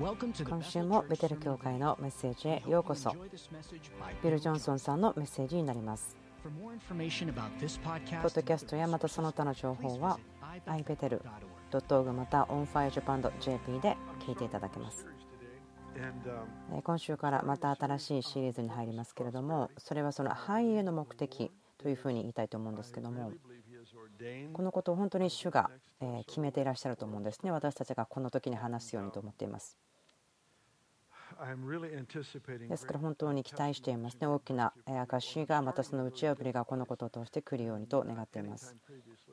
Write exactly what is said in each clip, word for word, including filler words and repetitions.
今週もベテル教会のメッセージへようこそ。ビル・ジョンソンさんのメッセージになります。ポッドキャストやまたその他の情報は アイベテルドットオーアールジー また オンファイアジャパンドットジェーピー で聞いていただけます。今週からまた新しいシリーズに入りますけれども、それはその繁栄の目的というふうに言いたいと思うんですけども、このことを本当に主が決めていらっしゃると思うんですね。私たちがこの時に話すようにと思っています。ですから本当に期待していますね。大きな証がまたその打ち破りがこのことを通して来るようにと願っています。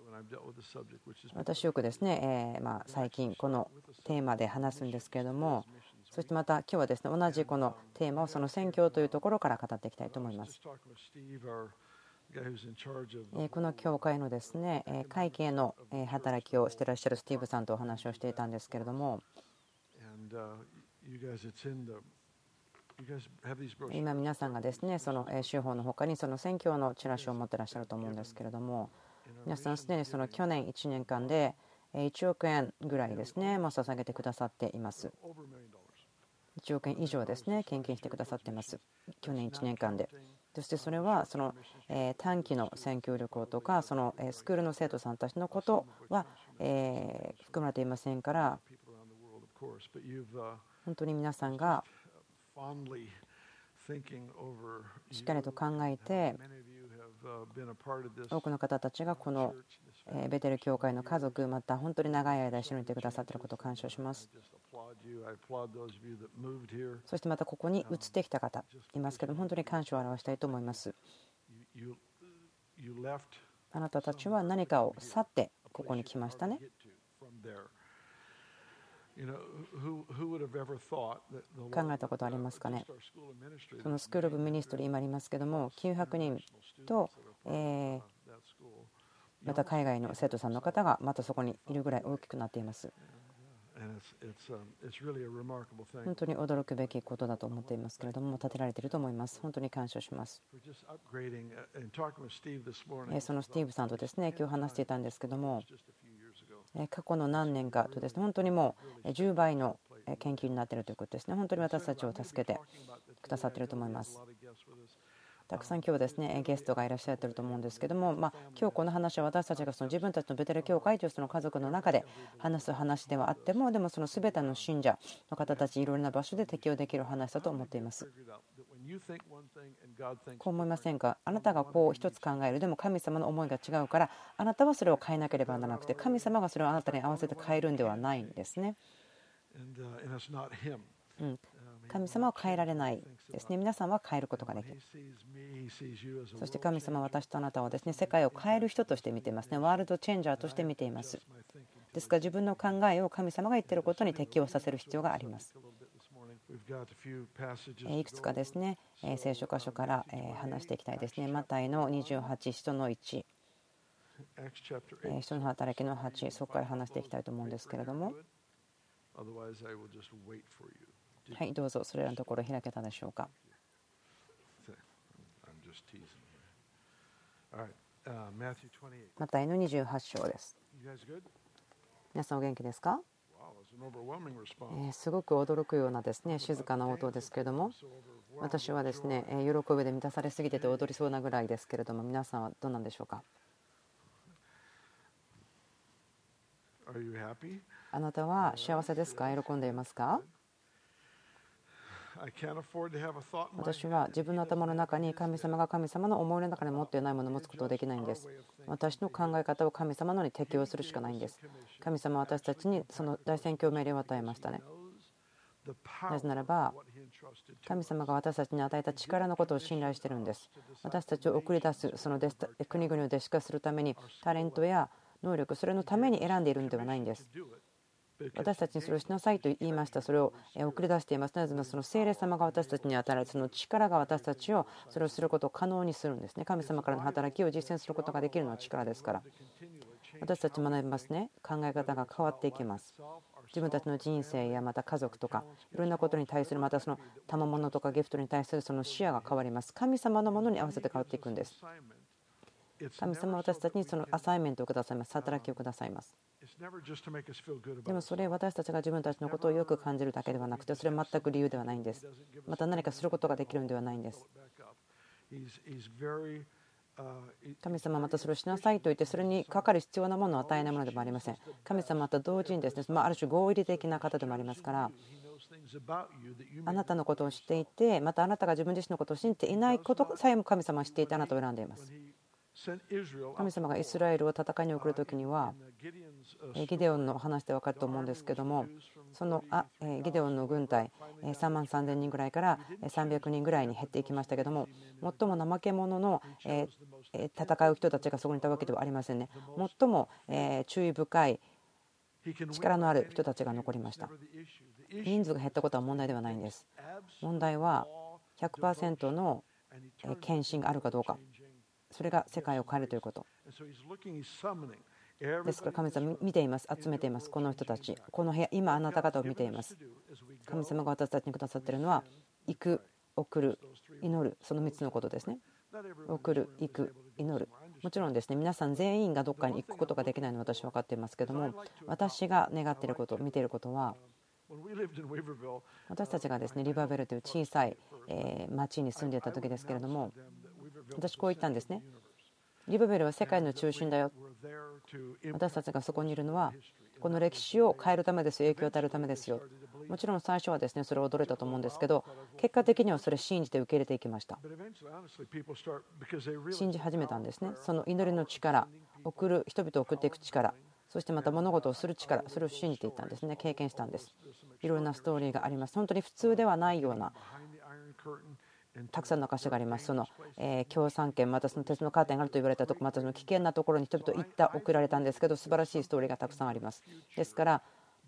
私よくですね、えーまあ最近このテーマで話すんですけれども、そしてまた今日はですね、同じこのテーマをその宣教というところから語っていきたいと思います。この教会のですね、会計の働きをしていらっしゃるスティーブさんとお話をしていたんですけれども、今皆さんがですね、その州法の他にその宣教のチラシを持っていらっしゃると思うんですけれども、皆さんすでにその去年いちねんかんでいちおくえんぐらいですね、も捧げてくださっています。いちおくえん以上ですね、献金してくださっています。去年いちねんかんで。そしてそれはその短期の宣教旅行とか、そのスクールの生徒さんたちのことは含まれていませんから、本当に皆さんがしっかりと考えて、多くの方たちがこのベテル教会の家族、また本当に長い間一緒にいてくださっていることを感謝します。そしてまたここに移ってきた方いますけども、本当に感謝を表したいと思います。あなたたちは何かを去ってここに来ましたね。考えたことありますかね。そのスクール・オブ・ミニストリー今ありますけども、きゅうひゃくにんと、えー、また海外の生徒さんの方がまたそこにいるぐらい大きくなっています。本当に驚くべきことだと思っていますけれども、立てられていると思います。本当に感謝します。そのスティーブさんとですね、今日話していたんですけども、過去の何年かとですね、本当にもうじゅうばいの研究になっているということですね。本当に私たちを助けてくださっていると思います。たくさん今日ですね、ゲストがいらっしゃっていると思うんですけども、まあ、今日この話は私たちがその自分たちのベテル教会というその家族の中で話す話ではあっても、でもその全ての信者の方たちいろいろな場所で適用できる話だと思っています。こう思いませんか。あなたがこう一つ考える、でも神様の思いが違うから、あなたはそれを変えなければならなくて、神様がそれをあなたに合わせて変えるんではないんですね。うん、神様は変えられないですね。皆さんは変えることができる。そして神様は私とあなたをですね、世界を変える人として見ていますね。ワールドチェンジャーとして見ています。ですから自分の考えを神様が言っていることに適応させる必要があります。いくつかですね、聖書箇所から話していきたいですね。マタイのにじゅうはち、人のいち、人の働きのはち、そこから話していきたいと思うんですけれども、はい、どうぞそれらのところ開けたでしょうか。マタイのにじゅうはち章です。皆さんお元気ですか。えー、すごく驚くようなですね、静かな音ですけれども、私はですね、喜びで満たされすぎてて踊りそうなぐらいですけれども、皆さんはどうなんでしょうか。あなたは幸せですか。喜んでいますか。私は自分の頭の中に神様が神様の思いの中に持っていないものを持つことができないんです。私の考え方を神様のに適用するしかないんです。神様は私たちにその大宣教命令を与えましたね。なぜならば神様が私たちに与えた力のことを信頼しているんです。私たちを送り出すその国々を弟子化するためにタレントや能力、それのために選んでいるのではないんです。私たちにそれをしなさいと言いました。それを送り出しています。なぜならその聖霊様が私たちに与えられるその力が私たちをそれをすることを可能にするんですね。神様からの働きを実践することができるのは力ですから。私たち学びますね。考え方が変わっていきます。自分たちの人生やまた家族とかいろんなことに対する、またその賜物とかギフトに対するその視野が変わります。神様のものに合わせて変わっていくんです。 神様は私たちにそのアサイメントをくださいます。働きをくださいます。でもそれは私たちが自分たちのことをよく感じるだけではなくて、それは全く理由ではないんです。また何かすることができるのではないんです。神様はまたそれをしなさいと言って、それにかかる必要なものを与えないものでもありません。神様はまた同時にですね、まあ、ある種合理的な方でもありますから、あなたのことを知っていて、またあなたが自分自身のことを信じていないことさえも神様は知っていてあなたを選んでいます。神様がイスラエルを戦いに送るときには、ギデオンの話で分かると思うんですけども、そのあギデオンの軍隊さんまんさんぜんにんぐらいからさんびゃくにんぐらいに減っていきましたけども、最も怠け者の戦う人たちがそこにいたわけではありませんね。最も注意深い力のある人たちが残りました。人数が減ったことは問題ではないんです。問題は ひゃくパーセント の献身があるかどうか。それが世界を変えるということですから、神様見ています。集めています。この人たち、この部屋、今あなた方を見ています。神様が私たちにくださっているのは、行く、送る、祈る、そのみっつのことですね。送る、行く、祈る。もちろんですね、皆さん全員がどこかに行くことができないのは私は分かっていますけども、私が願っていること、見ていることは、私たちがですね、リバーベルという小さい町に住んでいた時ですけれども、私こう言ったんですね。リバベルは世界の中心だよ。私たちがそこにいるのはこの歴史を変えるためですよ。影響を与えるためですよ。もちろん最初はですね、それを驚いたと思うんですけど、結果的にはそれを信じて受け入れていきました。信じ始めたんですね。その祈りの力、送る人々を送っていく力、そしてまた物事をする力、それを信じていったんですね。経験したんです。いろいろなストーリーがあります。本当に普通ではないようなたくさんの証があります。その共産圏、またその鉄のカーテンがあると言われたところ、またその危険なところに人々行った送られたんですけど、素晴らしいストーリーがたくさんあります。ですから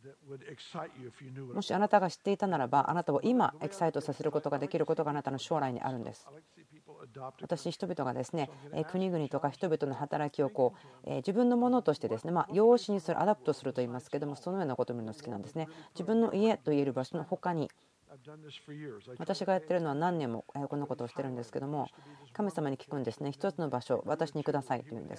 もしあなたが知っていたならば、あなたを今エキサイトさせることができることがあなたの将来にあるんです。私、人々がですね、国々とか人々の働きをこう自分のものとしてですね、まあ養子にする、アダプトすると言いますけども、そのようなことを見るの好きなんですね。自分の家と言える場所の他に、私がやっているのは何年もこんなことをしてるんですけども、神様に聞くんですね。一つの場所、私にくださいと言うんです。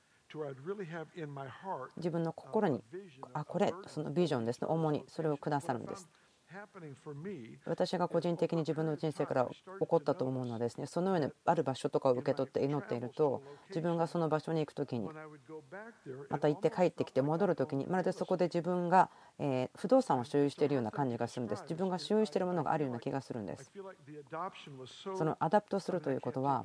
自分の心に、あ、これ、そのビジョンですね、主にそれをくださるんです。私が個人的に自分の人生から起こったと思うのはですね、そのようにある場所とかを受け取って祈っていると、自分がその場所に行くときに、また行って帰ってきて戻るときに、まるでそこで自分が不動産を所有しているような感じがするんです。自分が所有しているものがあるような気がするんです。そのアダプトするということは、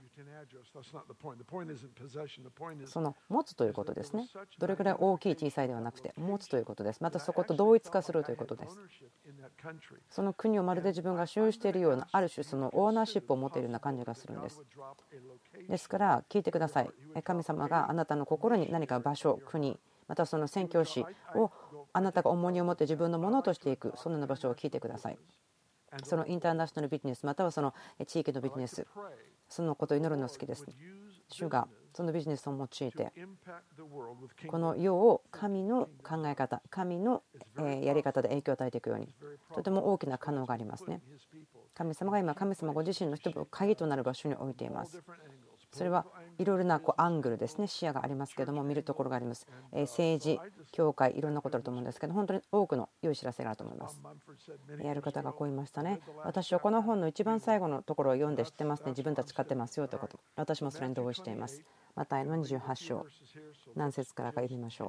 その持つということですね。どれくらい大きい小さいではなくて、持つということです。またそこと同一化するということです。その国をまるで自分が所有しているような、ある種そのオーナーシップを持っているような感じがするんです。ですから聞いてください。神様があなたの心に何か場所、国、またその宣教師をあなたが重荷を持って自分のものとしていく、そのような場所を聞いてください。そのインターナショナルビジネス、またはその地域のビジネス、そのことを祈るの好きです。主がそのビジネスを用いてこの世を神の考え方、神のやり方で影響を与えていくように、とても大きな可能がありますね。神様が今、神様ご自身の人々を鍵となる場所に置いています。それはいろいろなこうアングルですね、視野がありますけれども、見るところがあります。政治、教会、いろんなことあると思うんですけど、本当に多くの良い知らせがあると思います。やる方がこう言いましたね。私はこの本の一番最後のところを読んで知ってますね。自分たち買ってますよということ。私もそれに同意しています。マタイのにじゅうはち章、何節からか読みましょ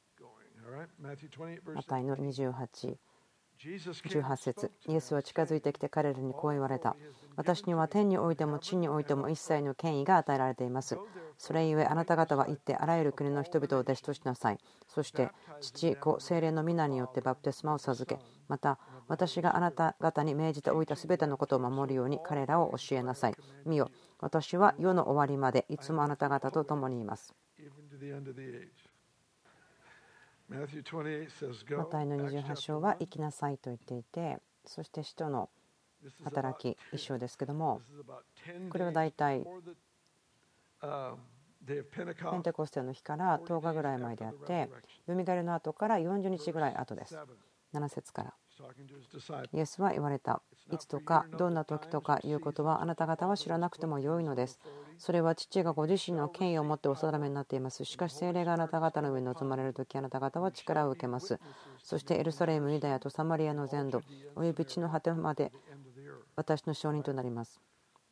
う。マタイのにじゅうはち、じゅうはち節。イエスは近づいてきて彼らにこう言われた。私には天においても地においても一切の権威が与えられています。それゆえあなた方は行ってあらゆる国の人々を弟子としなさい。そして父、子、聖霊の皆によってバプテスマを授け、また私があなた方に命じておいたすべてのことを守るように彼らを教えなさい。見よ、私は世の終わりまでいつもあなた方と共にいます。マタイのにじゅうはち章は行きなさいと言っていて、そして使徒の働き一章ですけども、これはだいたいペンテコステの日からとおかぐらい前であって、よみがえりの後からよんじゅうにちぐらい後です。 なな節から。イエスは言われた。いつとかどんな時とかいうことはあなた方は知らなくてもよいのです。それは父がご自身の権威を持ってお定めになっています。しかし聖霊があなた方の上に臨まれる時、あなた方は力を受けます。そしてエルサレム、ユダヤとサマリアの全土および地の果てまで私の証人となります。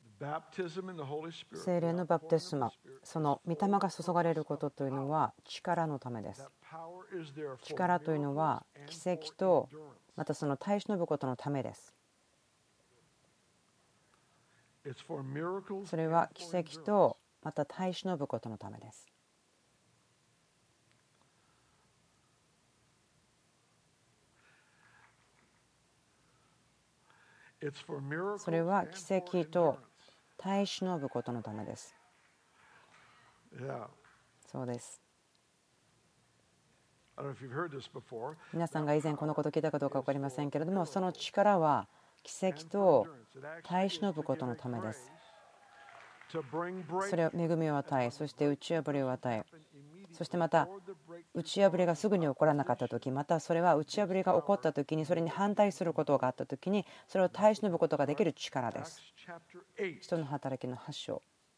聖霊のバプテスマ、その御霊が注がれることというのは力のためです。力というのは奇跡とまたその耐え忍ぶことのためです。それは奇跡とまた耐え忍ぶことのためです。それは奇跡と耐え忍ぶことのためです。そうです。皆さんが以前このことを聞いたかどうか分かりませんけれども、その力は奇跡と耐え忍ぶことのためです。それは恵みを与え、そして打ち破りを与え、そしてまた打ち破りがすぐに起こらなかった時、またそれは打ち破りが起こった時にそれに反対することがあった時にそれを耐え忍ぶことができる力です。使徒の働きのはち章。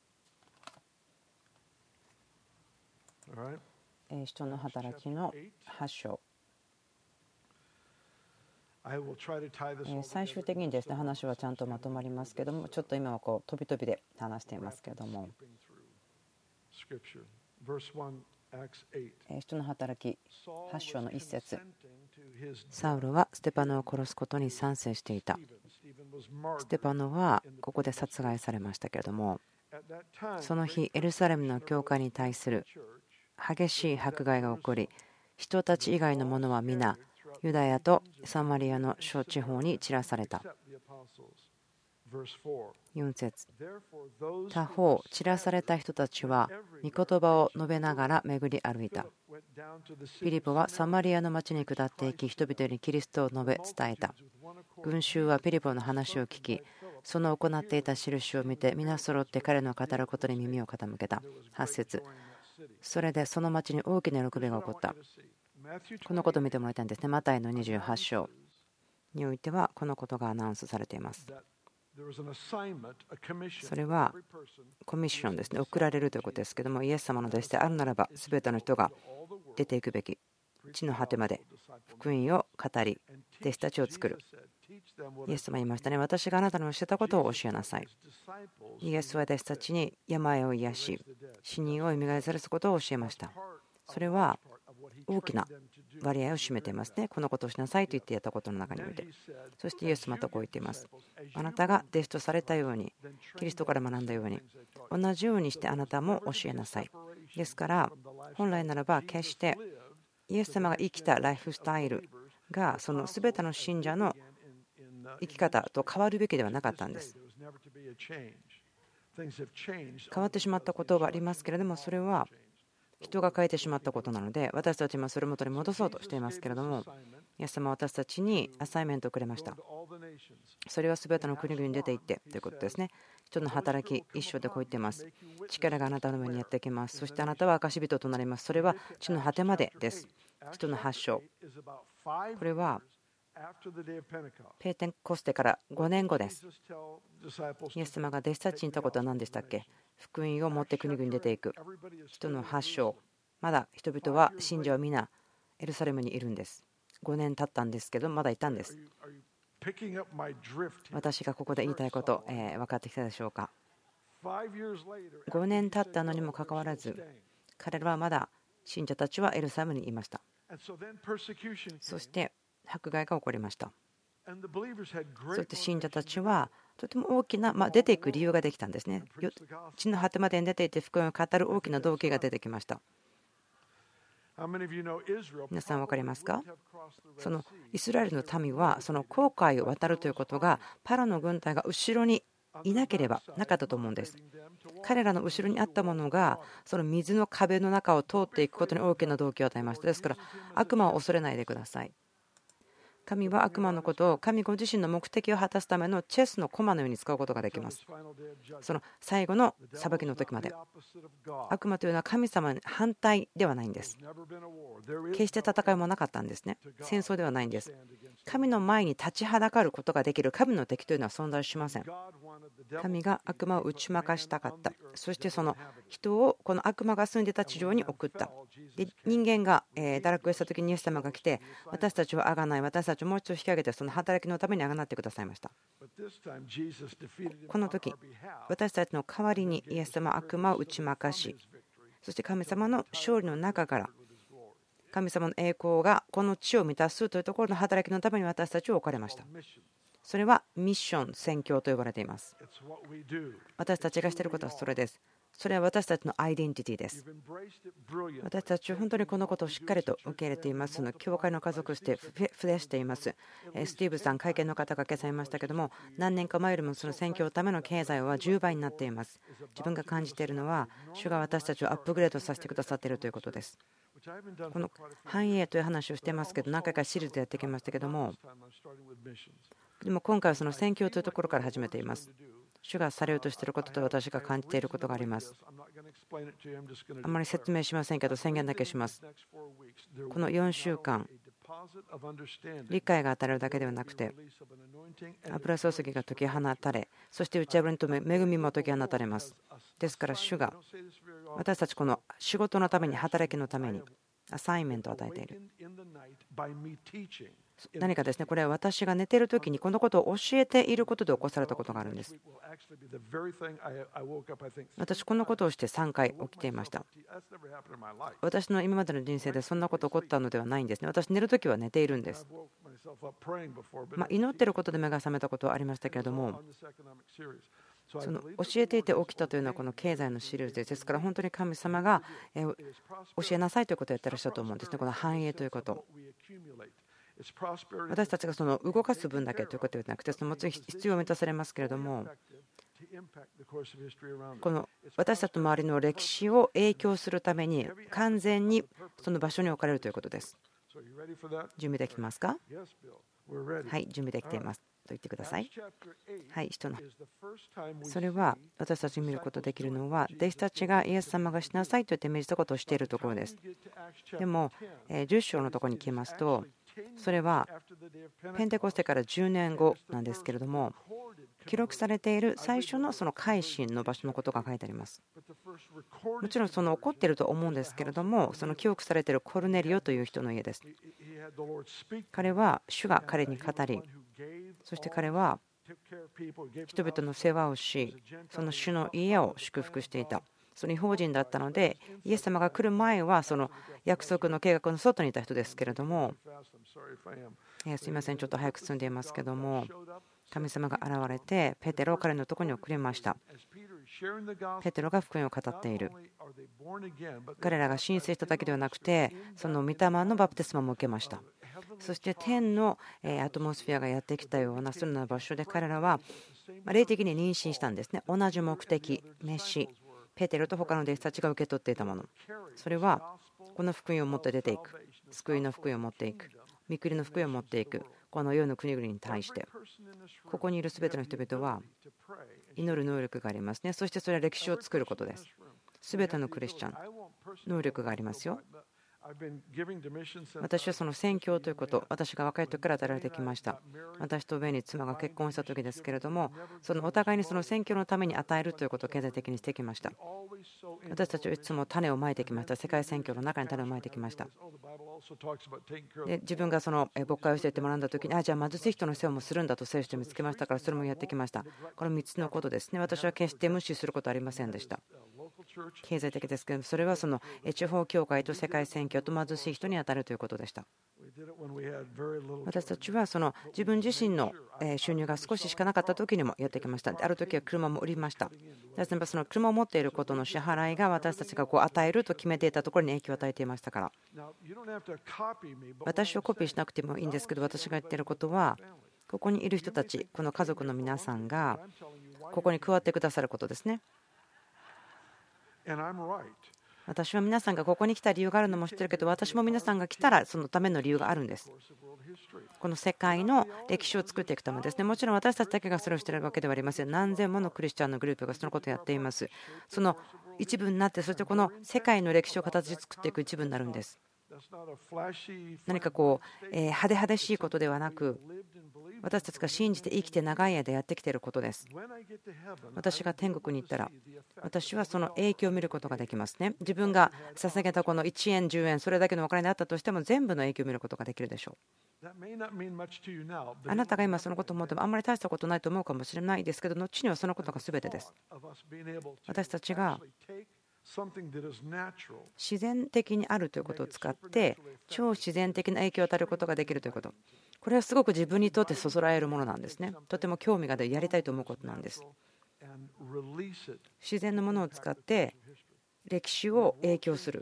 使徒の働きのはち章。最終的にですね、話はちゃんとまとまりますけども、ちょっと今はこう飛び飛びで話していますけれども、使徒の働きはち章のいち節。サウロはステパノを殺すことに賛成していた。ステパノはここで殺害されましたけれども、その日エルサレムの教会に対する激しい迫害が起こり、人たち以外の者は皆ユダヤとサマリアの諸地方に散らされた。よん節。他方散らされた人たちは御言葉を述べながら巡り歩いた。ピリポはサマリアの町に下っていき、人々にキリストを述べ伝えた。群衆はピリポの話を聞き、その行っていた印を見て皆揃って彼の語ることに耳を傾けた。はち節。それでその町に大きな喜びが起こった。このことを見てもらいたいんですね。マタイのにじゅうはち章においてはこのことがアナウンスされています。それはコミッションですね。送られるということですけども、イエス様の弟子であるならば全ての人が出ていくべき。地の果てまで福音を語り弟子たちを作る。イエス様言いましたね。私があなたの教えたことを教えなさい。イエスは弟子たちに病を癒し死人を蘇らせることを教えました。それは大きな割合を占めていますね。このことをしなさいと言ってやったことの中において。そしてイエスまたこう言っています。あなたが弟子とされたように、キリストから学んだように、同じようにしてあなたも教えなさい。ですから本来ならば決してイエス様が生きたライフスタイルがその全ての信者の生き方と変わるべきではなかったんです。変わってしまったことはありますけれども、それは人が変えてしまったことなので、私たちもそれを元に戻そうとしていますけれども、イエス様は私たちにアサイメントをくれました。それは全ての国々に出て行ってということですね。人の働き一章でこう言っています。力があなたの上にやってきます。そしてあなたは証人となります。それは地の果てまでです。人のはち章。これはペーテンコステからごねんごです。イエス様が弟子たちに言ったことは何でしたっけ？福音を持って国々に出ていく。人のはち章。まだ人々は信者は皆エルサレムにいるんです。ごねん経ったんですけどまだいたんです。私がここで言いたいこと、えー、分かってきたでしょうか。ごねん経ったのにもかかわらず彼らはまだ信者たちはエルサレムにいました。そして迫害が起こりました。そして信者たちはとても大きな、まあ、出ていく理由ができたんですね。地の果てまでに出ていて福音を語る大きな動機が出てきました。皆さん分かりますか？そのイスラエルの民はその紅海を渡るということがパロの軍隊が後ろにいなければなかったと思うんです。彼らの後ろにあったものがその水の壁の中を通っていくことに大きな動機を与えました。ですから悪魔を恐れないでください。 神は悪魔のことを神ご自身の目的を果たすためのチェスの駒のように使うことができます。その最後の裁きの時まで。悪魔というのは神様に反対ではないんです。決して戦いもなかったんですね。戦争ではないんです。神の前に立ちはだかることができる神の敵というのは存在しません。神が悪魔を打ち負かしたかった。そしてその人をこの悪魔が住んでいた地上に送った。で人間が堕落した時にイエス様が来て、私たちをあがない、私たちをもう一度引き上げて、その働きのためにあがなってくださいました。この時、私たちの代わりにイエス様は悪魔を打ち負かし、そして神様の勝利の中から神様の栄光がこの地を満たすというところの働きのために私たちを置かれました。それはミッション、宣教と呼ばれています。私たちがしていることはそれです。それは私たちのアイデンティティです。私たちは本当にこのことをしっかりと受け入れていますので、教会の家族として増やしています。スティーブさん、会見の方が今朝言いましたけども、何年か前よりもその宣教のための経済はじゅうばいになっています。自分が感じているのは、主が私たちをアップグレードさせてくださっているということです。この繁栄という話をしていますけど、何回かシリーズでやってきましたけども、でも今回はその宣教というところから始めています。主がされようとしていることと私が感じていることがあります。あまり説明しませんけど宣言だけします。このよんしゅうかん、理解が与えるだけではなくて、油注ぎが解き放たれ、そして打ち破りと恵みも解き放たれます。ですから主が私たちこの仕事のために、働きのためにアサインメントを与えている。何かですね、これは私が寝ている時にこのことを教えていることで起こされたことがあるんです。私このことをしてさんかい起きていました。私の今までの人生でそんなこと起こったのではないんですね。私寝る時は寝ているんです。まあ祈っていることで目が覚めたことはありましたけれども、その教えていて起きたというのはこの経済のシリーズです。ですから本当に神様が教えなさいということをやってらっしゃると思うんですね。この繁栄ということ、私たちがその動かす分だけということではなくて、そのもちろん必要を満たされますけれども、この私たちの周りの歴史を影響するために完全にその場所に置かれるということです。準備できますか？はい、準備できていますと言ってください。はい、人のそれは私たちに見ることができるのは、弟子たちがイエス様がしなさいと言って命じたことをしているところです。でもじゅっ章のところに来ますと、それはペンテコステからじゅうねんごなんですけれども、記録されている最初のその改心の場所のことが書いてあります。もちろんその起こっていると思うんですけれども、その記憶されているコルネリオという人の家です。彼は主が彼に語り、そして彼は人々の世話をし、その主の家を祝福していた。その異邦人だったので、イエス様が来る前はその約束の計画の外にいた人ですけれども、すいません、ちょっと早く進んでいますけども、神様が現れてペテロを彼のところに送りました。ペテロが福音を語っている。彼らが申請しただけではなくて、その御霊のバプテスマも受けました。そして天のアトモスフェアがやってきたようなそのような場所で、彼らは霊的に妊娠したんですね。同じ目的、飯、ペテロと他の弟子たちが受け取っていたもの、それはこの福音を持って出ていく、救いの福音を持っていく、御国の福音を持っていく、この世の国々に対して、ここにいるすべての人々は祈る能力がありますね。そしてそれは歴史を作ることです。すべてのクリスチャン、能力がありますよ。私はその宣教ということ、私が若い時から与えられてきました。私とベニー妻が結婚した時ですけれども、そのお互いにその宣教のために与えるということを経済的にしてきました。私たちはいつも種をまいてきました。世界宣教の中に種をまいてきました。で自分がその牧会をしていて学んだ時に、あじゃあ貧しい人の世話もするんだと聖書で見つけましたから、それもやってきました。このみっつのことですね。私は決して無視することはありませんでした。経済的ですけど、それはその地方教会と世界宣教と貧しい人に当たるということでした。私たちはその自分自身の収入が少ししかなかった時にもやってきました。ある時は車も売りました。例えばその車を持っていることの支払いが私たちがこう与えると決めていたところに影響を与えていましたから、私をコピーしなくてもいいんですけど、私が言っていることは、ここにいる人たち、この家族の皆さんがここに加わってくださることですね。 私は皆さんがここに来た理由があるのも知ってるけど、私も皆さんが来たらそのための理由があるんです。この世界の歴史を作っていくためですね。もちろん私たちだけがそれをしているわけではありません。何千ものクリスチャンのグループがそのことをやっています。その一部になって、そしてこの世界の歴史を形作っていく一部になるんです。何かこう派手派手しいことではなく、私たちが信じて生きて長い間やってきていることです。私が天国に行ったら、私はその影響を見ることができますね。自分が捧げたこのいちえんじゅうえん、それだけのお金であったとしても全部の影響を見ることができるでしょう。あなたが今そのことを思ってもあんまり大したことないと思うかもしれないですけど、後にはそのことが全てです。私たちが自然的にあるということを使って超自然的な影響を与えることができるということ、これはすごく自分にとってそそられるものなんですね。とても興味が出る、やりたいと思うことなんです。自然のものを使って歴史を影響する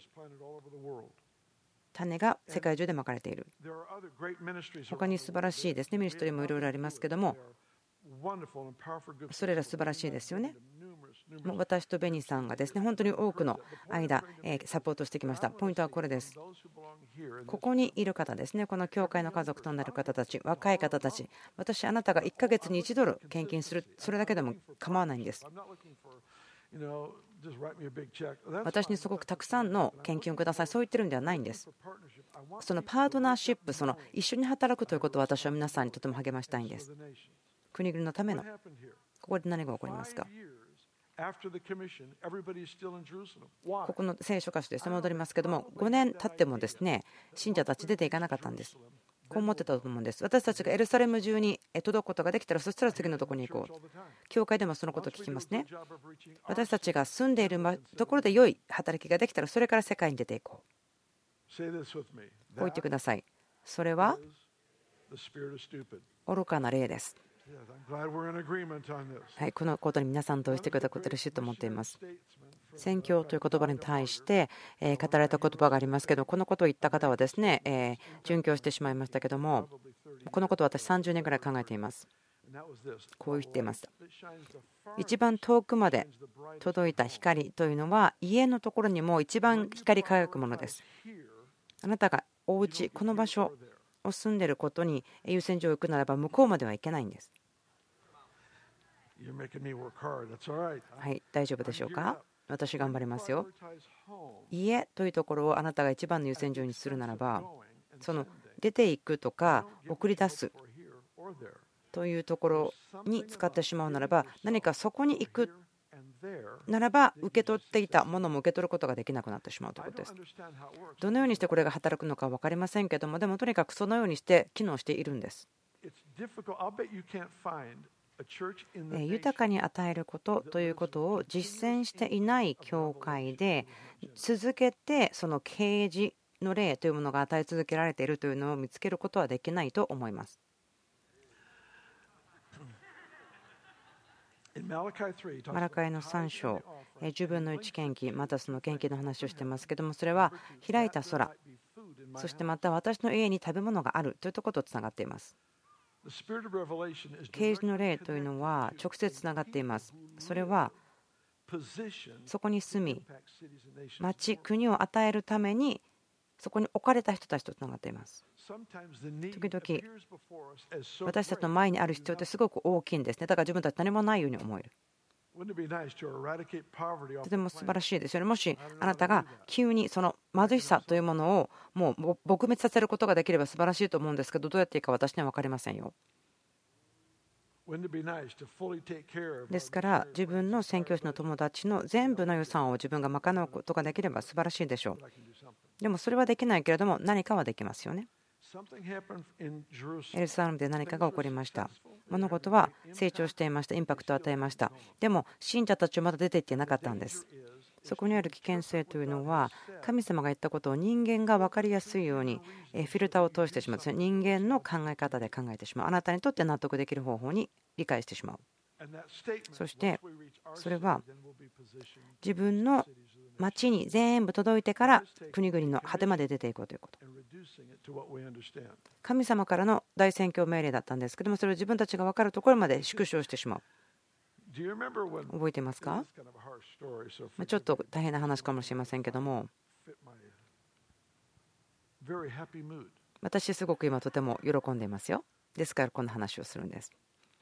種が世界中でまかれている。他に素晴らしいですねミニストリーもいろいろありますけども、それら素晴らしいですよね。もう私とベニーさんがですね本当に多くの間サポートしてきました。ポイントはこれです。ここにいる方ですね、この教会の家族となる方たち、若い方たち、私あなたがいっかげつにいちドル献金する、それだけでも構わないんです。私にすごくたくさんの献金をください、そう言ってるんではないんです。そのパートナーシップ、その一緒に働くということを私は皆さんにとても励ましたいんです。国々のための。ここで何が起こりますか。ここの聖書箇所ですね、戻りますけども、ごねん経ってもですね信者たち出ていかなかったんです。こう思ってたと思うんです。私たちがエルサレム中に届くことができたら、そしたら次のところに行こう。教会でもそのことを聞きますね。私たちが住んでいるところで良い働きができたら、それから世界に出ていこう。こう言ってください。それは愚かな霊です。はい、このことに皆さん同意してくれたこと嬉しいと思っています。宣教という言葉に対して語られた言葉がありますけど、このことを言った方はですね殉教してしまいましたけども、このことを私さんじゅうねんぐらい考えています。こう言っていました。一番遠くまで届いた光というのは家のところにも一番光り輝くものです。あなたがお家、この場所を住んでいることに優先順位を置くならば、向こうまではいけないんです。はい、大丈夫でしょうか。私頑張りますよ。家というところをあなたが一番の優先順位にするならば、その出ていくとか送り出すというところに使ってしまうならば、何かそこに行くならば受け取っていたものも受け取ることができなくなってしまうということです。どのようにしてこれが働くのか分かりませんけども、でもとにかくそのようにして機能しているんです。豊かに与えることということを実践していない教会で続けてその啓示の霊というものが与え続けられているというのを見つけることはできないと思います。マラカイのさん章、じゅうぶんのいち献金、またその献金の話をしていますけども、それは開いた空、そしてまた私の家に食べ物があるというところとつながっています。啓示の霊というのは直接つながっています。それはそこに住み、町、国を与えるためにそこに置かれた人たちとつながっています。時々私たちの前にある必要ってすごく大きいんですね。だから自分たち何もないように思える。とても素晴らしいですよね。もしあなたが急にその貧しさというものをもう撲滅させることができれば素晴らしいと思うんですけど、どうやっていいか私には分かりませんよ。ですから自分の宣教師の友達の全部の予算を自分が賄うことができれば素晴らしいでしょう。でもそれはできないけれども何かはできますよね。エルサレムで何かが起こりました。物事は成長していました。インパクトを与えました。でも信者たちはまだ出ていってなかったんです。そこにある危険性というのは、神様が言ったことを人間が分かりやすいようにフィルターを通してしまう。人間の考え方で考えてしまう。あなたにとって納得できる方法に理解してしまう。そしてそれは自分の町に全部届いてから国々の果てまで出ていこうということ。神様からの大宣教命令だったんですけども、それを自分たちが分かるところまで縮小してしまう。 覚えていますか？ちょっと大変な話かもしれませんけども、私すごく今とても喜んでいますよ。ですからこの話をするんです。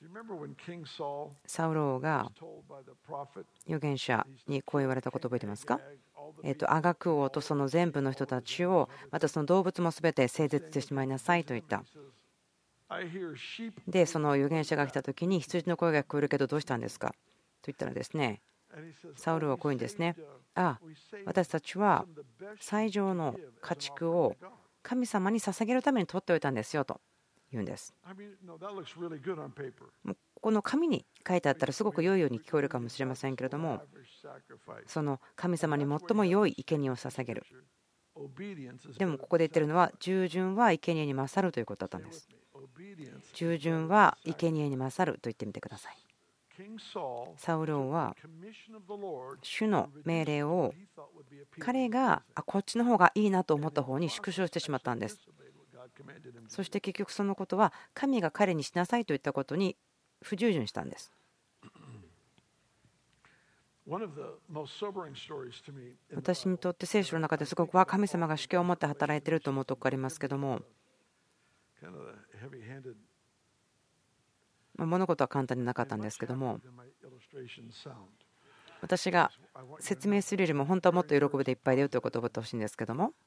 サウロが預言者にこう言われたこと覚えてますか？えっと、アガク王とその全部の人たちを、またその動物もすべて整絶してしまいなさいと言った。で、その預言者が来た時に、羊の声が聞こえるけどどうしたんですかと言ったらですね、サウルはこういうんですね。ああ、私たちは最上の家畜を神様に捧げるために取っておいたんですよと言うんです。この紙に書いてあったらすごく良いように聞こえるかもしれませんけれども、その神様に最も良い生贄を捧げる。でもここで言ってるのは、従順は生贄に勝るということだったんです。従順は生贄に勝ると言ってみてください。サウル王は主の命令を彼がこっちの方がいいなと思った方に縮小してしまったんです。そして結局そのことは神が彼にしなさいと言ったことに不従順したんです。私にとって聖書の中ですごくは神様が主権を持って働いていると思うところがありますけども、物事は簡単でなかったんですけども、私が説明するよりも本当はもっと喜びでいっぱいだよということを覚えてほしいんですけども、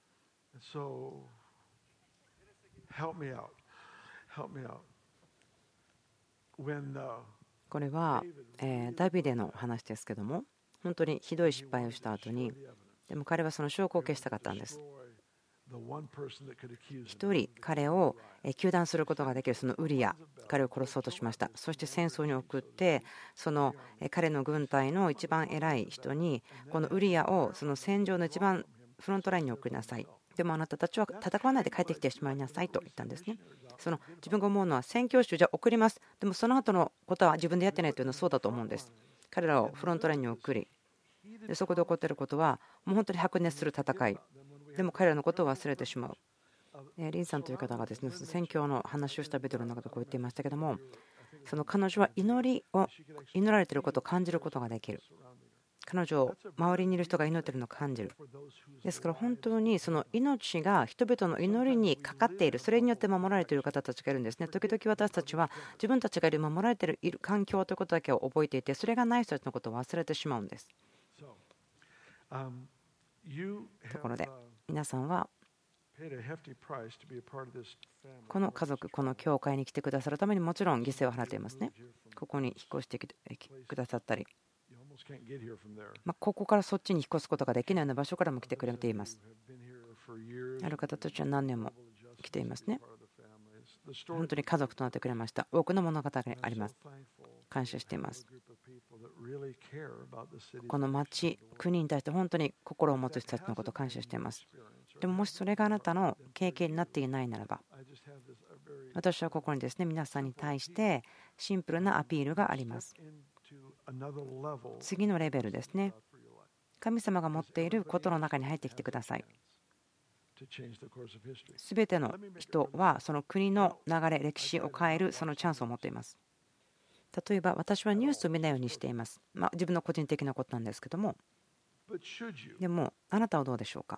これはダビデの話ですけども、本当にひどい失敗をした後に、でも彼はその証拠を消したかったんです。一人彼を糾弾することができるそのウリア、彼を殺そうとしました。そして戦争に送って、その彼の軍隊の一番偉い人にこのウリアをその戦場の一番フロントラインに送りなさい。でもあなたたちは戦わないで帰ってきてしまいなさいと言ったんですね。その自分が思うのは、宣教師をじゃあ送ります、でもその後のことは自分でやってないというのはそうだと思うんです。彼らをフロントラインに送り、でそこで起こっていることはもう本当に白熱する戦いでも彼らのことを忘れてしまう。リンさんという方がですね、宣教の話をしたビデオの中でこう言っていましたけども、その彼女は祈りを祈られていることを感じることができる。彼女を周りにいる人が祈っているのを感じる。ですから本当にその命が人々の祈りにかかっている、それによって守られている方たちがいるんですね。時々私たちは自分たちがいる守られている環境ということだけを覚えていて、それがない人たちのことを忘れてしまうんです。ところで皆さんはこの家族、この教会に来てくださるためにもちろん犠牲を払っていますね。ここに引っ越してきてくださったり、ここからそっちに引っ越すことができないような場所からも来てくれています。ある方たちは何年も来ていますね。本当に家族となってくれました。多くの物語があります。感謝しています。この町、国に対して本当に心を持つ人たちのことを感謝しています。でももしそれがあなたの経験になっていないならば、私はここにですね、皆さんに対してシンプルなアピールがあります。次のレベルですね。神様が持っていることの中に入ってきてください。すべての人はその国の流れ、歴史を変えるそのチャンスを持っています。例えば私はニュースを見ないようにしています。まあ、自分の個人的なことなんですけども、でもあなたはどうでしょうか。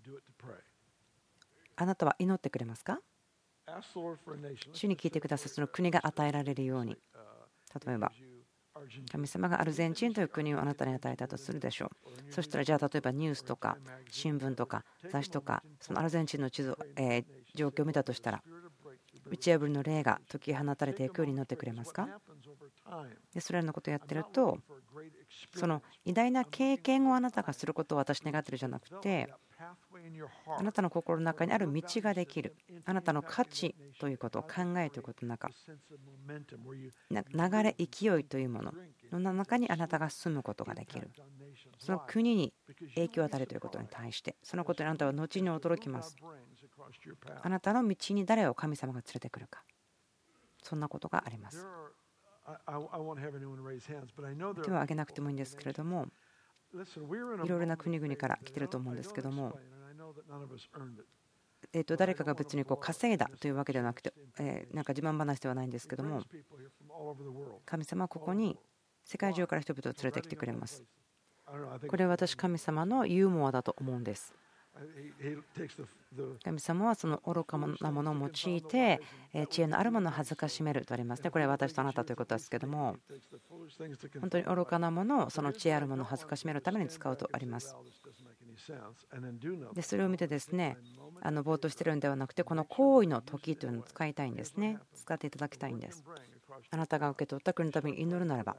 あなたは祈ってくれますか。主に聞いてください。その国が与えられるように。例えば神様がアルゼンチンという国をあなたに与えたとするでしょう。そしたらじゃあ例えばニュースとか新聞とか雑誌とかそのアルゼンチンの地図、えー、状況を見たとしたら、打ち破りの霊が解き放たれていくようになってくれますか。でそれらのことをやってると、その偉大な経験をあなたがすることを私願ってるじゃなくて、あなたの心の中にある道ができる、あなたの価値ということを考えということの中、流れ勢いというものの中にあなたが住むことができる。その国に影響を与えるということに対して、そのことにあなたは後に驚きます。あなたの道に誰を神様が連れてくるか、そんなことがあります。手を挙げなくてもいいんですけれども、いろいろな国々から来てると思うんですけども、えと誰かが別にこう稼いだというわけではなくて、えなんか自慢話ではないんですけども、神様はここに世界中から人々を連れてきてくれます。これは私、神様のユーモアだと思うんです。神様はその愚かなものを用いて知恵のあるものを恥ずかしめるとありますね。これは私とあなたということですけども、本当に愚かなものをその知恵あるものを恥ずかしめるために使うとあります。でそれを見てですね、あのぼーっとしてるんではなくて、この行為の時というのを使いたいんですね。使っていただきたいんです。あなたが受け取った国のために祈るならば、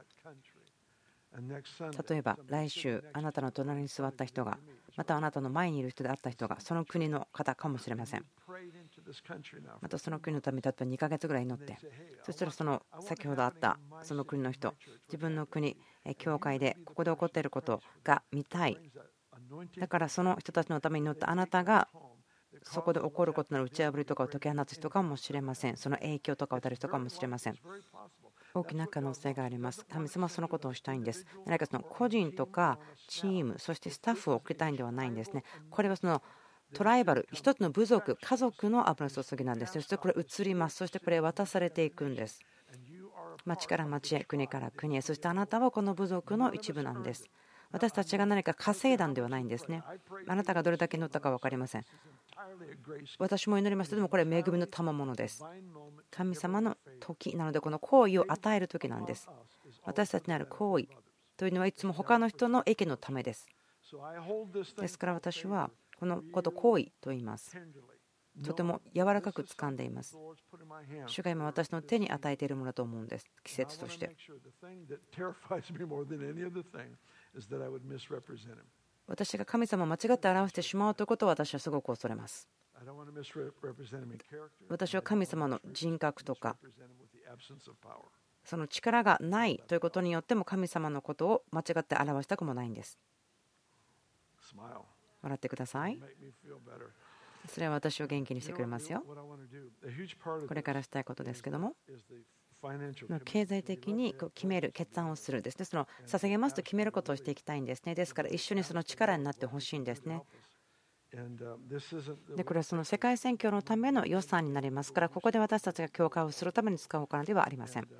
例えば来週あなたの隣に座った人が、またあなたの前にいる人であった人がその国の方かもしれません。またその国のために例えばにかげつぐらい祈って、そしたらその先ほどあったその国の人、自分の国教会でここで起こっていることが見たい。だからその人たちのために祈ったあなたがそこで起こることの打ち破りとかを解き放つ人かもしれません。その影響とかを与える人かもしれません。大きな可能性があります。神様はそのことをしたいんです。何かその個人とかチーム、そしてスタッフを送りたいんではないんですね。これはそのトライバル、一つの部族、家族の油注ぎなんです。そしてこれ移ります。そしてこれ渡されていくんです。町から町へ、国から国へ、そしてあなたはこの部族の一部なんです。私たちが何か稼いだんではないんですね。あなたがどれだけ祈ったか分かりません。私も祈りました。でもこれは恵みの賜物です。神様の時なので、この行為を与える時なんです。私たちにある行為というのはいつも他の人の益のためです。ですから私はこのこと行為と言います。とても柔らかく掴んでいます。主が今私の手に与えているものだと思うんです。季節として。私が神様を間違って表してしまうということを私はすごく恐れます。私は神様の人格とかその力がないということによっても神様のことを間違って表したくもないんです。笑ってください。それは私を元気にしてくれますよ。これからしたいことですけども、経済的に決める、決断をするですね。その捧げますと決めることをしていきたいんですね。ですから一緒にその力になってほしいんですね。でこれはその世界宣教のための予算になりますから、ここで私たちが教会をするために使うお金ではありません。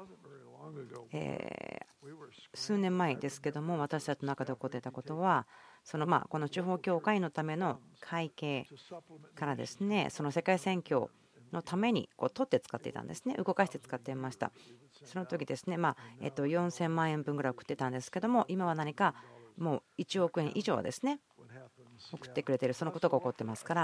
えー、数年前ですけども、私たちの中で起こっていたことは、そのまあこの地方教会のための会計からですね、その世界宣教のためにこう取って使っていたんですね。動かして使っていました。その時ですね、まあえっとよんせんまんえんぶんぐらい送ってたんですけども、今は何かもういちおくえん以上ですね送ってくれている、そのことが起こってますから。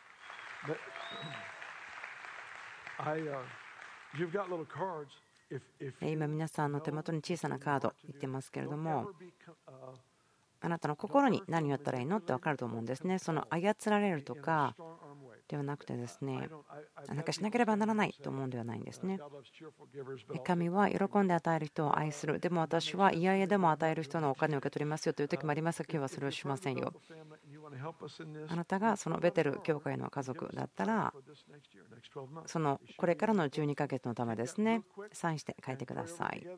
今皆さんの手元に小さなカード言ってますけれども、あなたの心に何をやったらいいのって分かると思うんですね。その操られるとかではなくてですね、何かしなければならないと思うんではないんですね。神は喜んで与える人を愛する。でも私は嫌々でも与える人のお金を受け取りますよという時もありますが、今日はそれをしませんよ。あなたがそのベテル教会の家族だったら、そのこれからのじゅうにかげつのためですね、サインして書いてください。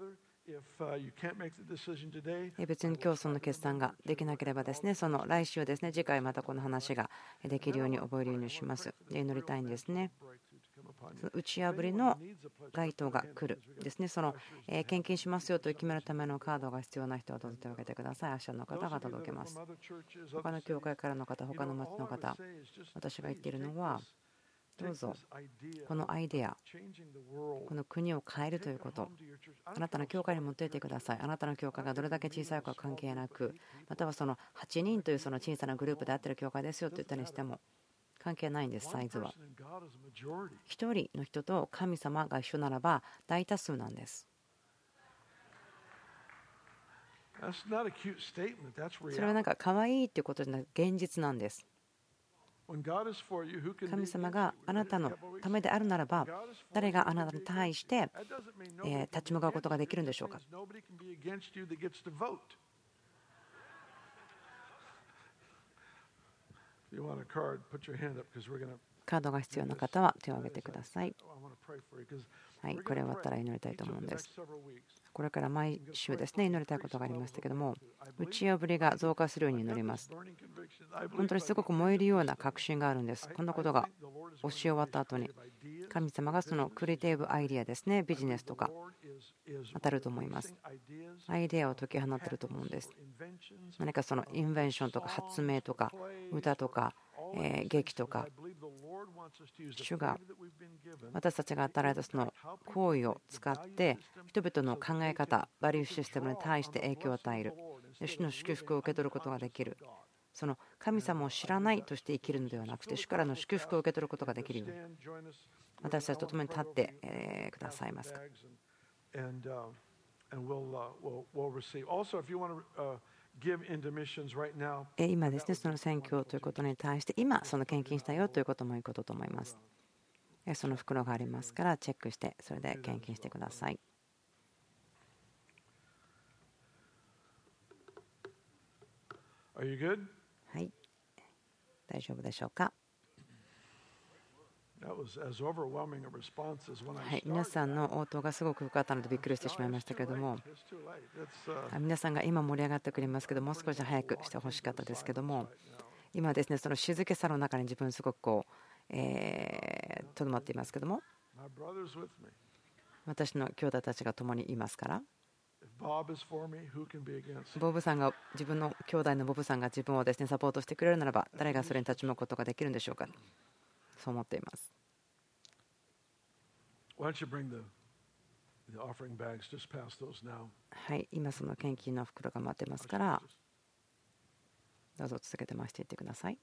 別に今日その決断ができなければですね、その来週ですね、次回またこの話ができるように覚えるようにします。で祈りたいんですね。打ち破りの該当が来るですね。その献金しますよと決めるためのカードが必要な人はどうぞ手を挙げてください。明日の方が届けます。他の教会からの方、他の町の方、私が言っているのは、どうぞこのアイデア、この国を変えるということ、あなたの教会に持っていってください。あなたの教会がどれだけ小さいか関係なく、またはそのはちにんというその小さなグループであっている教会ですよと言ったりしても関係ないんです。サイズはひとりの人と神様が一緒ならば大多数なんです。それはなんか可愛いっていうことじゃなく現実なんです。神様があなたのためであるならば、誰があなたに対して立ち向かうことができるんでしょうか。カードが必要な方は手を挙げてください。はい、これ終わったら祈りたいと思うんです。 これから毎週ですね、祈りたいことがありましたけども、打ち破りが増加するように祈ります。本当にすごく燃えるような確信があるんです。こんなことが教え終わった後に、神様がそのクリエイティブアイディアですね、ビジネスとか当たると思います。アイデアを解き放っていると思うんです。何かそのインベンションとか発明とか歌とかえ劇とか、主が私たちが与えられたその行為を使って人々の考え方、バリューシステムに対して影響を与える、主の祝福を受け取ることができる、その神様を知らないとして生きるのではなくて、主からの祝福を受け取ることができるように、私たちと共に立ってくださいますか。今ですね、その選挙ということに対して、今、その献金したよということもいいことと思います。その袋がありますから、チェックして、それで献金してください。はい、大丈夫でしょうか。はい、皆さんの応答がすごく深かったのでびっくりしてしまいましたけれども、皆さんが今盛り上がってくれますけども、う少し早くしてほしかったですけども、今ですね、その静けさの中に自分すごくこうえとどまっていますけども、私の兄弟たちが共にいますから、ボブさんが自分の兄弟のボブさんが自分をですねサポートしてくれるならば、誰がそれに立ち向くことができるんでしょうか。そう思っています。はい、今その献金の袋が待ってますから、どうぞ続けて回していってください。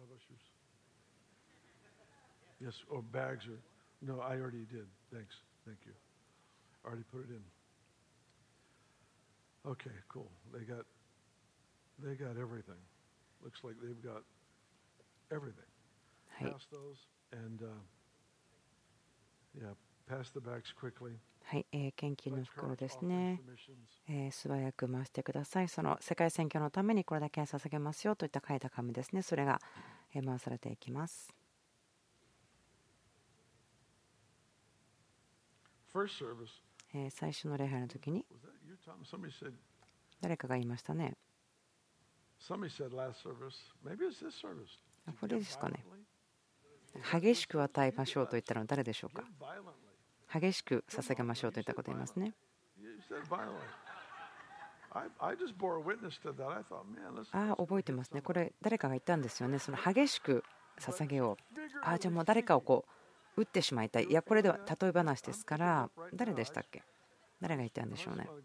Okay, cool. They got, they got everything. Looks like they've got everything. Pass those and uh, yeah, pass the bags quickly. はい、えー、献金の袋ですね、えー、素早く回してください。その世界選挙のためにこれだけ捧げますよといった書いた紙ですね、それが回されていきます。 First service. えー、最初の礼拝の時に誰かが言いましたね。これですかね。激しく与えましょうと言ったのは誰でしょうか。激しく捧げましょうといったことを言いますね。ああ、覚えてますね。これ誰かが言ったんですよね。その激しく捧げよう。ああ、じゃあもう誰かをこう打ってしまいたい。いや、これでは例え話ですから、誰でしたっけ。誰が言ったんでしょうね。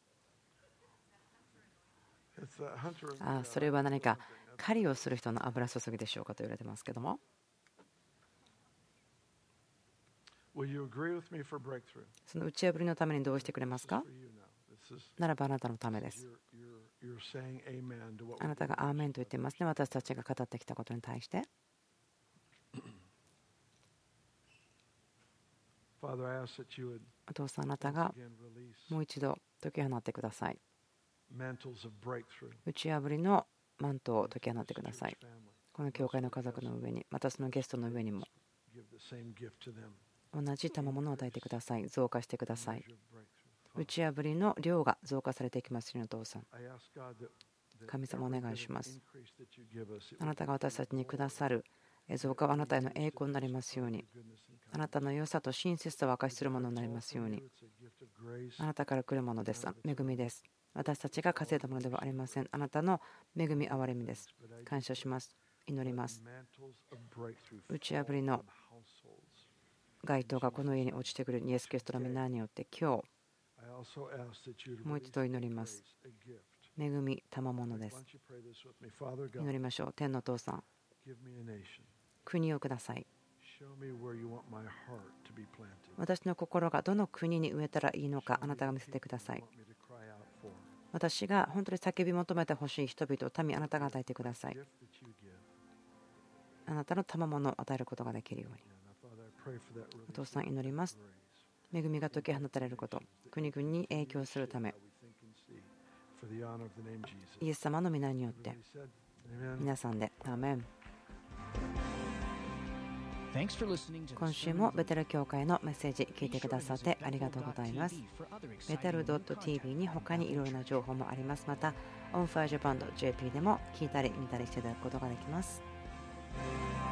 ああ、それは何か狩りをする人の油注ぎでしょうかと言われてますけども、その打ち破りのためにどうしてくれますか。ならばあなたのためです。あなたがアーメンと言っていますね。私たちが語ってきたことに対して。お父さん、あなたがもう一度解き放ってください。打ち破りのマントを解き放ってください。この教会の家族の上に、またそのゲストの上にも同じ賜物を与えてください。増加してください。打ち破りの量が増加されていきますように、お父さん、神様お願いします。あなたが私たちにくださる増加はあなたへの栄光になりますように、あなたの良さと親切さを明かしするものになりますように。あなたから来るものです。恵みです。私たちが稼いだものではありません。あなたの恵み憐れみです。感謝します。祈ります。打ち破りの街灯がこの家に落ちてくるイエス・キリストの皆によって今日もう一度祈ります。恵み賜物です。祈りましょう。天のお父さん、国をください。私の心がどの国に植えたらいいのか、あなたが見せてください。私が本当に叫び求めてほしい人々、民、あなたが与えてください。あなたの賜物を与えることができるように。お父さん、祈ります。恵みが解き放たれること、国々に影響するため、イエス様の皆によって、皆さんでアーメン。 今週もベテル教会のメッセージ聞いてくださってありがとうございます。ベテル .tv に他にいろいろな情報もあります。また、オンファージャパン .jp でも聞いたり見たりしていただくことができます。